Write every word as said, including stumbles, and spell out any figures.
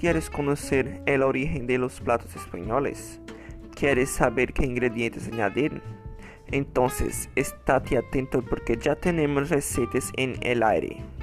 ¿Quieres conocer el origen de los platos españoles? ¿Quieres saber qué ingredientes añadir? Entonces, estate atento porque ya tenemos recetas en el aire.